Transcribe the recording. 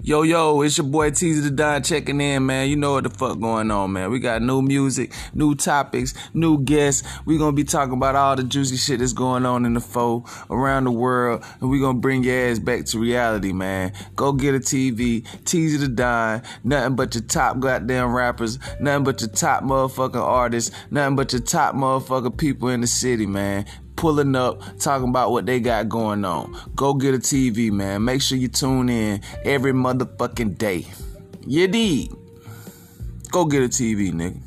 Yo, it's your boy Teaser the Don checking in, man. You know what the fuck going on, man. We got new music, new topics, new guests. We gonna be talking about all the juicy shit that's going on in the foe around the world, and we gonna bring your ass back to reality, man. Go get a TV, Teaser the Don, nothing but your top goddamn rappers, nothing but your top motherfucking artists, nothing but your top motherfucking people in the city, man. Pulling up, talking about what they got going on. Go get a TV, man. Make sure you tune in every motherfucking day. You dig? Go get a TV, nigga.